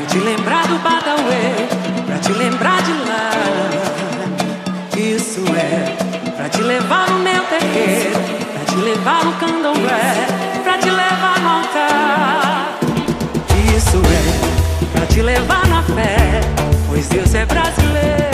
te lembrar do Badauê, pra te lembrar de lá. Isso é pra te levar no meu terreiro, pra te levar no candomblé, pra te levar no altar. Isso é pra te levar na fé, pois Deus é brasileiro.